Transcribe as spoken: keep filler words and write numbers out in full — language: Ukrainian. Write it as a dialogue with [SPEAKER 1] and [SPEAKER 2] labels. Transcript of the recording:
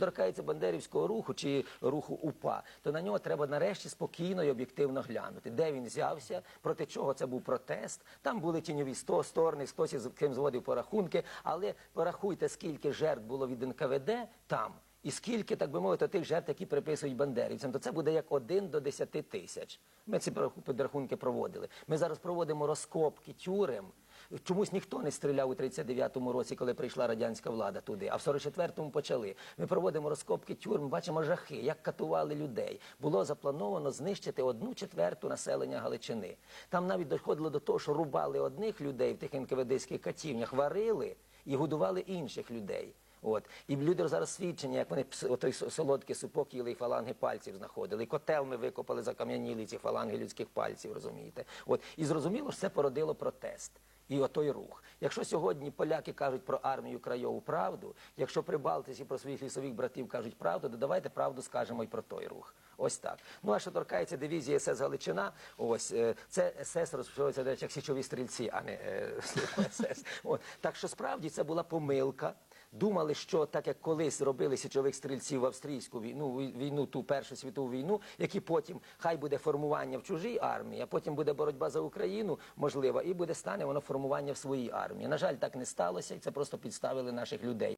[SPEAKER 1] торкається бандерівського руху чи руху УПА, то на нього треба нарешті спокійно і об'єктивно глянути. Де він взявся, проти чого це був протест. Там були тіньові сто сторони, хтось із ким зводив порахунки, але порахуйте, скільки жертв було від ен ка ве де там, і скільки, так би мовити, тих жертв, які приписують бандерівцям, то це буде як один до десяти тисяч. Ми ці підрахунки проводили. Ми зараз проводимо розкопки тюрем. Чомусь ніхто не стріляв у тридцять дев'ятому році, коли прийшла радянська влада туди, а в сорок четвертому почали. Ми проводимо розкопки тюрем, бачимо жахи, як катували людей. Було заплановано знищити одну четверту населення Галичини. Там навіть доходило до того, що рубали одних людей в тих ен ка ве деських катівнях, варили і годували інших людей. От. І люди зараз свідчення, як вони той солодкий супок їли і фаланги пальців знаходили. І котел ми викопали, закам'яніли ці фаланги людських пальців, розумієте. От. І зрозуміло, що це породило протест. І отой рух. Якщо сьогодні поляки кажуть про армію Крайову правду, якщо прибалтиці про своїх лісових братів кажуть правду, то давайте правду скажемо і про той рух. Ось так. Ну, а що торкається дивізії ес ес Галичина, ось, це ес ес розпочалося, до речі, як січові стрільці, а не ес ес. От. Так що, справді, це була помилка. Думали, що так як колись робили січових стрільців в австрійську війну, війну, ту Першу світову війну, які потім, хай буде формування в чужій армії, а потім буде боротьба за Україну, можливо, і буде стане воно формування в своїй армії. На жаль, так не сталося, і це просто підставили наших людей.